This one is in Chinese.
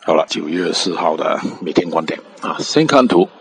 好了，9月4号的每天观点啊，先看图